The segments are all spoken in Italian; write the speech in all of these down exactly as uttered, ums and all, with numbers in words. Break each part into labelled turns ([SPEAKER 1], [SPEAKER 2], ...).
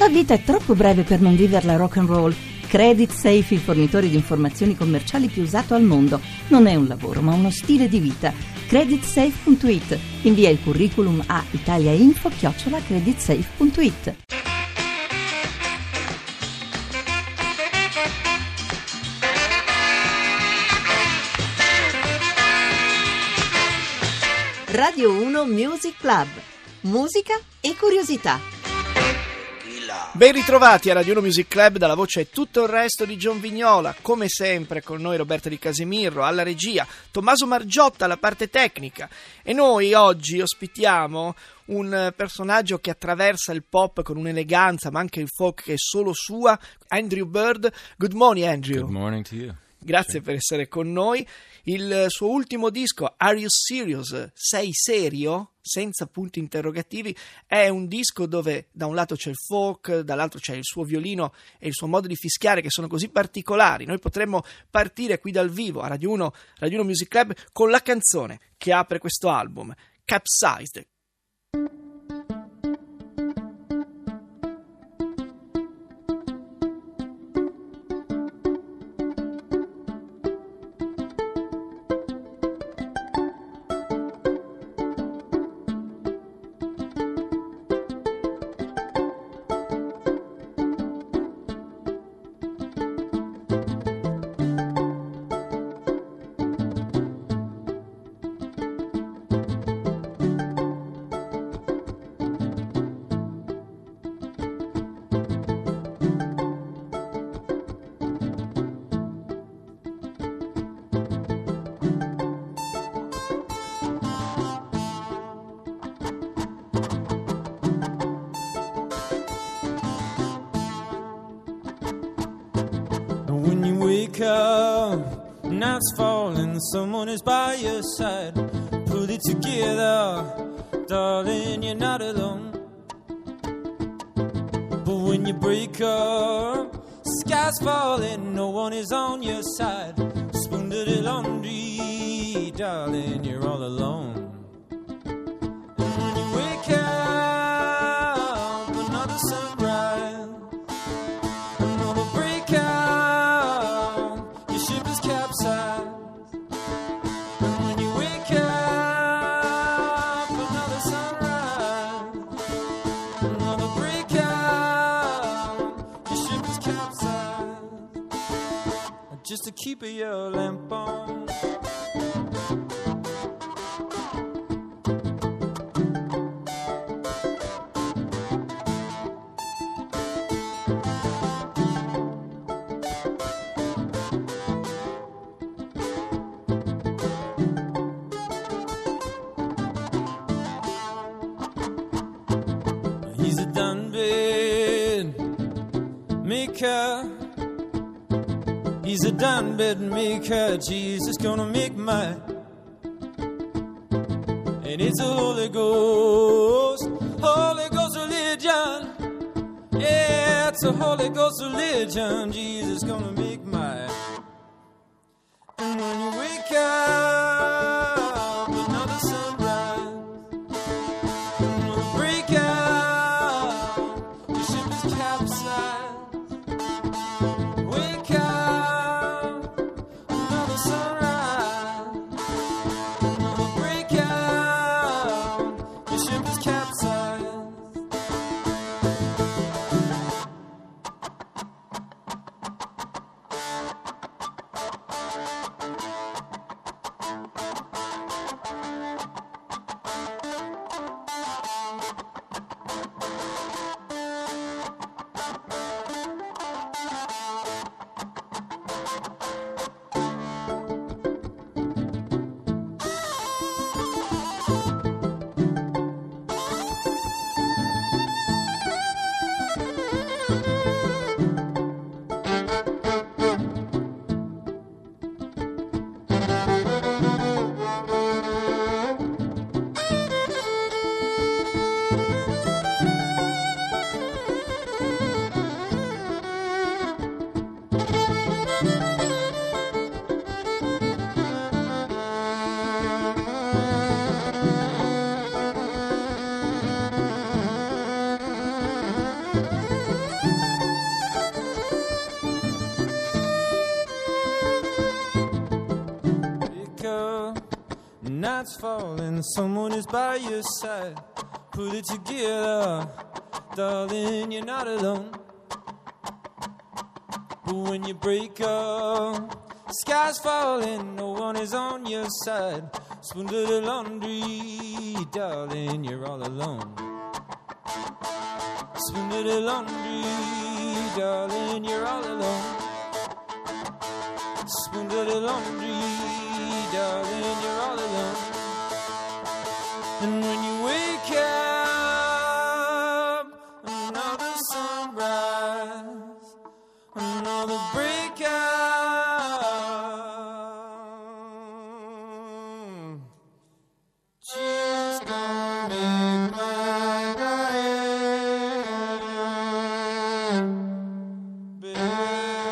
[SPEAKER 1] tua vita è troppo breve per non viverla rock and roll. Credit Safe, il fornitore di informazioni commerciali più usato al mondo. Non è un lavoro, ma uno stile di vita. credit safe punto it. Invia il curriculum a italiainfo chiocciola creditsafe punto it. Radio uno Music Club. Musica e curiosità.
[SPEAKER 2] Ben ritrovati a Radio uno Music Club, dalla voce e tutto il resto di John Vignola. Come sempre con noi Roberto Di Casemirro alla regia, Tommaso Margiotta alla parte tecnica, e noi oggi ospitiamo un personaggio che attraversa il pop con un'eleganza ma anche il folk che è solo sua, Andrew Bird. Good morning, Andrew.
[SPEAKER 3] Good morning to you.
[SPEAKER 2] Grazie per essere con noi. Il suo ultimo disco, Are You Serious? Sei serio? Senza punti interrogativi, è un disco dove da un lato c'è il folk, dall'altro c'è il suo violino e il suo modo di fischiare che sono così particolari. Noi potremmo partire qui dal vivo a Radio uno, Radio uno Music Club con la canzone che apre questo album, Capsized.
[SPEAKER 4] When you wake up, night's falling, someone is by your side. Put it together, darling, you're not alone. But when you break up, sky's falling, no one is on your side. Spoon dirty laundry, darling, you're all alone. And when you wake up, another sunrise, another breakout, your ship is capsized. And when you wake up, another sunrise, another breakout, your ship is capsized. Just to keep your lamp on. He's a done bed maker. He's a done bed maker. Jesus gonna make mine. And it's a Holy Ghost, Holy Ghost religion. Yeah, it's a Holy Ghost religion. Jesus gonna make mine. And when you wake up, another sunrise, another breakout, your ship is capsized. Wake up, another sunrise, another breakout, your ship is capsized. sky's falling, someone is by your side. Put it together, darling, you're not alone. But when you break up, sky's falling, no one is on your side. Spoon to the laundry, darling, you're all alone. Spoon to the laundry, darling, you're all alone. Spoon to the laundry, darling, you're all alone. And when you wake up, another sunrise, another breakup. She's gonna make my diet better.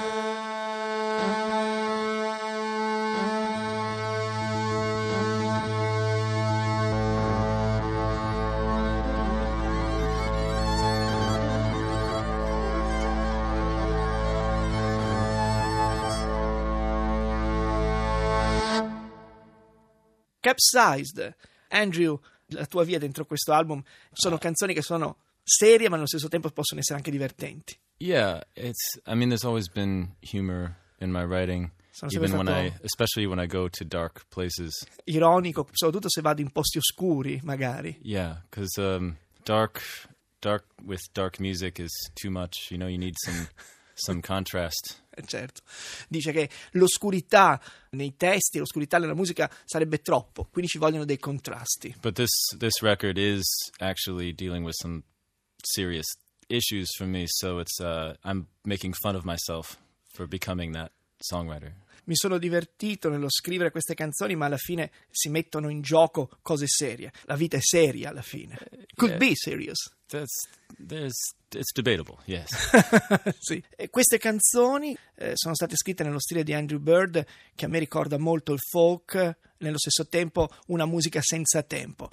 [SPEAKER 2] Capsized. Andrew, la tua via dentro questo album sono canzoni che sono serie ma allo stesso tempo possono essere anche divertenti.
[SPEAKER 3] Yeah, it's. I mean, there's always been humor in my writing,
[SPEAKER 2] Sono
[SPEAKER 3] even
[SPEAKER 2] sempre
[SPEAKER 3] when I,
[SPEAKER 2] stato
[SPEAKER 3] especially when I go to dark places.
[SPEAKER 2] ironico, soprattutto se vado in posti oscuri, magari.
[SPEAKER 3] Yeah, because um, dark, dark with dark music is too much. You know, you need some, some contrast.
[SPEAKER 2] Eh, certo. Dice che l'oscurità nei testi, l'oscurità nella musica sarebbe troppo, quindi ci vogliono dei contrasti.
[SPEAKER 3] But this this record is actually dealing with some serious issues for me, so it's uh, I'm making fun of myself for becoming that songwriter.
[SPEAKER 2] Mi sono divertito nello scrivere queste canzoni, ma alla fine si mettono in gioco cose serie. La vita è seria alla fine. Could
[SPEAKER 3] Yeah.
[SPEAKER 2] be serious.
[SPEAKER 3] That's there's it's debatable, yes.
[SPEAKER 2] Sì. E queste canzoni eh, sono state scritte nello stile di Andrew Bird, che a me ricorda molto il folk, nello stesso tempo una musica senza tempo.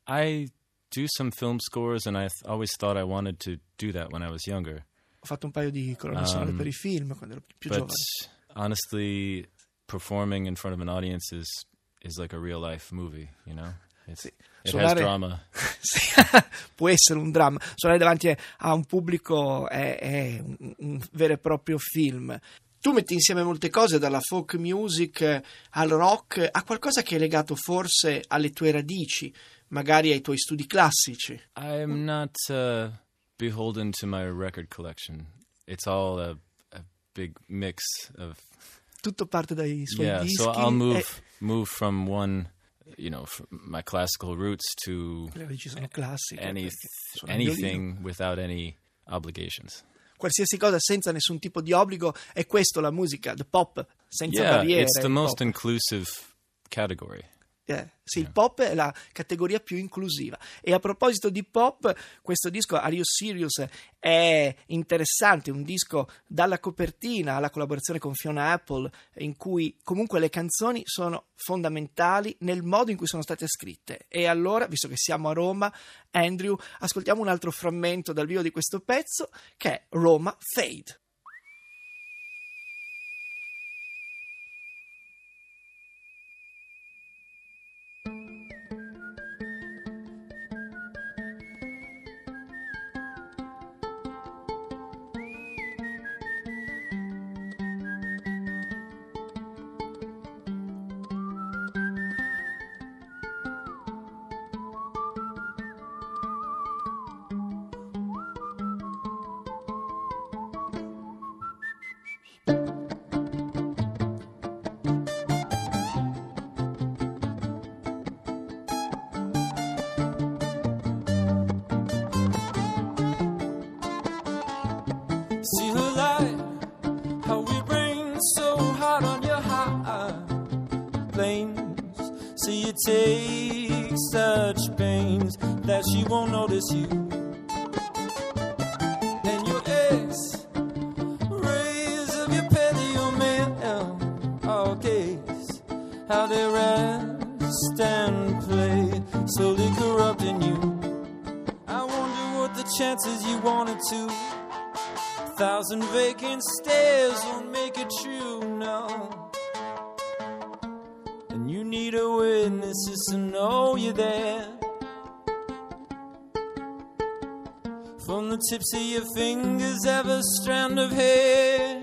[SPEAKER 3] I do some film scores, and I th- always thought I wanted to do that when I was younger.
[SPEAKER 2] Ho fatto un paio di colonne sonore
[SPEAKER 3] Um,
[SPEAKER 2] per i film quando ero più
[SPEAKER 3] But
[SPEAKER 2] giovane.
[SPEAKER 3] honestly, performing in front of an audience is is like a real life movie, you know? It's,
[SPEAKER 2] Sì.
[SPEAKER 3] It
[SPEAKER 2] Suonare-
[SPEAKER 3] has drama.
[SPEAKER 2] Sì, può essere un dramma. Suonare davanti a un pubblico è, è un, un vero e proprio film. Tu metti insieme molte cose, dalla folk music al rock, a qualcosa che è legato forse alle tue radici, magari ai tuoi studi classici.
[SPEAKER 3] I'm not uh, beholden to my record collection. It's all a, a big mix of
[SPEAKER 2] Tutto parte dai suoi
[SPEAKER 3] yeah.
[SPEAKER 2] dischi.
[SPEAKER 3] So I'll move
[SPEAKER 2] e
[SPEAKER 3] move from one, you know, from my classical roots to
[SPEAKER 2] le radici sono classiche.
[SPEAKER 3] any
[SPEAKER 2] perché suona il violino.
[SPEAKER 3] anything without any obligations.
[SPEAKER 2] Qualsiasi cosa senza nessun tipo di obbligo, è questo la musica, the pop, senza
[SPEAKER 3] Yeah,
[SPEAKER 2] barriere.
[SPEAKER 3] it's the
[SPEAKER 2] il
[SPEAKER 3] most
[SPEAKER 2] pop.
[SPEAKER 3] inclusive category.
[SPEAKER 2] Eh, sì, il pop è la categoria più inclusiva. E a proposito di pop, questo disco Are You Serious è interessante, un disco dalla copertina alla collaborazione con Fiona Apple, in cui comunque le canzoni sono fondamentali nel modo in cui sono state scritte. E allora, visto che siamo a Roma, Andrew, ascoltiamo un altro frammento dal vivo di questo pezzo, che è Roma Fade.
[SPEAKER 4] See her light, how we rain so hard on your high planes. See you take such pains that she won't notice you. And your ex rays of your paleo male, all gaze how they rest and play, slowly corrupting you. I wonder what the chances you wanted to. Thousand vacant stares won't make it true, no. And you need a witness just to know you're there. From the tips of your fingers, every strand of hair.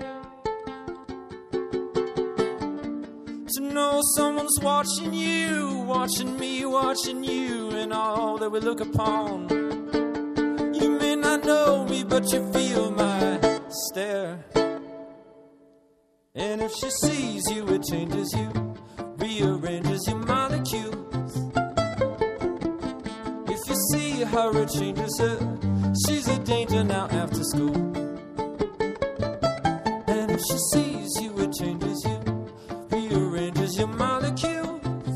[SPEAKER 4] To know someone's watching you, watching me, watching you, and all that we look upon. You may not know me, but you feel my stare. And if she sees you, it changes you, rearranges your molecules. If you see her, it changes her. She's a danger now after school. And if she sees you, it changes you, rearranges your molecules.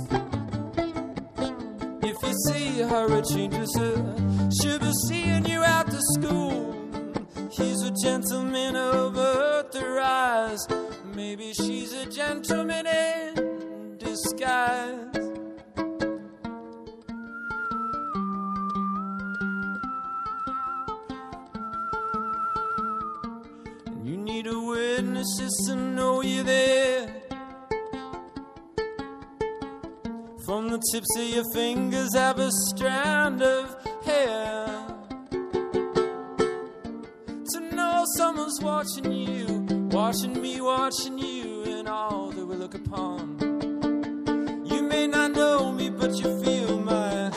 [SPEAKER 4] If you see her, it changes her. She'll be seeing you after school. He's a gentleman of earth or eyes. Maybe she's a gentleman in disguise. And you need a witness just to know you're there. From the tips of your fingers, have a strand of hair. To know someone's watching you, watching me, watching you, and all that we look upon. You may not know me, but you feel my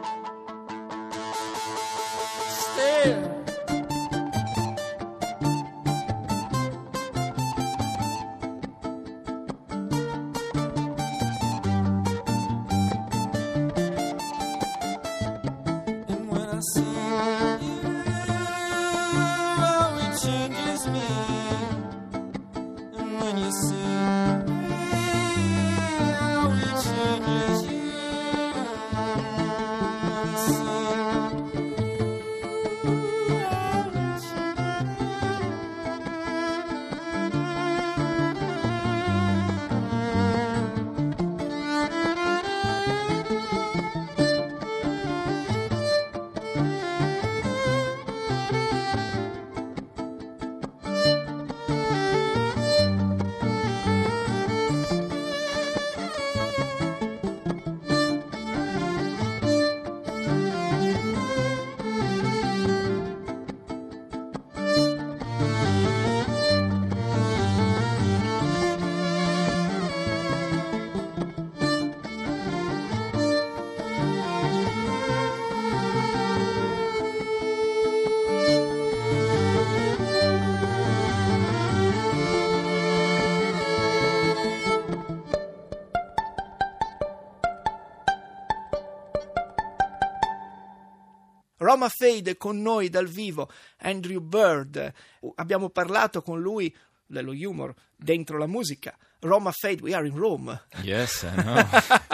[SPEAKER 4] stare. And when I see you, oh, it changes me. When you see how it changes you,
[SPEAKER 2] Roma Fade con noi dal vivo, Andrew Bird. Abbiamo parlato con lui dello humor dentro la musica. Roma Fade, we are in Rome.
[SPEAKER 3] Yes, I know.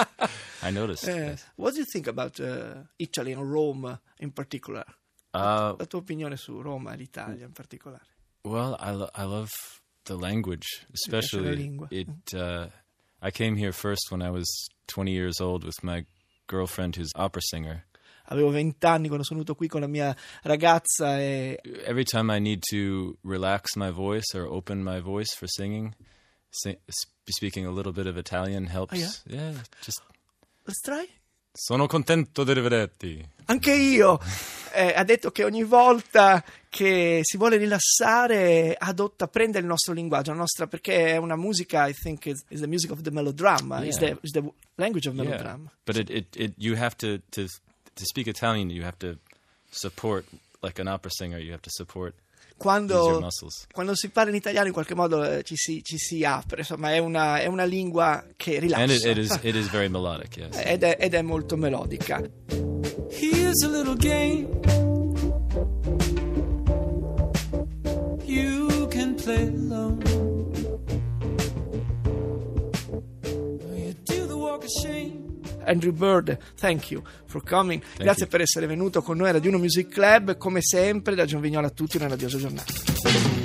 [SPEAKER 3] I noticed.
[SPEAKER 2] Uh,
[SPEAKER 3] yes.
[SPEAKER 2] What do you think about uh, Italy and Rome in particular?
[SPEAKER 3] Uh,
[SPEAKER 2] La tua opinione su Roma e l'Italia in particolare?
[SPEAKER 3] Well, I, lo- I love the language, especially.
[SPEAKER 2] lingua.
[SPEAKER 3] It. Uh, I came here first when I was twenty years old with my girlfriend, who's opera singer.
[SPEAKER 2] Avevo vent'anni quando sono venuto qui con la mia ragazza e
[SPEAKER 3] Every time I need to relax my voice or open my voice for singing, sing, speaking a little bit of Italian helps.
[SPEAKER 2] Oh, yeah?
[SPEAKER 3] Yeah, just.
[SPEAKER 2] Let's try?
[SPEAKER 3] Sono contento di rivederti.
[SPEAKER 2] Anche io. Eh, ha detto che ogni volta che si vuole rilassare adotta, prende il nostro linguaggio, la nostra, perché è una musica, I think, is, is the music of the melodrama,
[SPEAKER 3] Yeah.
[SPEAKER 2] is, the, is the language of
[SPEAKER 3] Yeah,
[SPEAKER 2] melodrama.
[SPEAKER 3] but it, it, it you have to, to to speak Italian. You have to support, like an opera singer. You have to support use your
[SPEAKER 2] Quando,
[SPEAKER 3] muscles.
[SPEAKER 2] quando si parla in italiano in qualche modo eh, ci, si, ci si apre, insomma è una, è una lingua che rilassa.
[SPEAKER 3] And it, it is it is very melodic. Yes.
[SPEAKER 2] ed, è, ed è molto melodica.
[SPEAKER 4] Here's a little game you can play alone. You do the walk of shame.
[SPEAKER 2] Andrew Bird, thank you for coming.
[SPEAKER 3] Thank
[SPEAKER 2] Grazie
[SPEAKER 3] you.
[SPEAKER 2] per essere venuto con noi a Radio uno Music Club. Come sempre, da Gian Vignola a tutti, una radiosa giornata.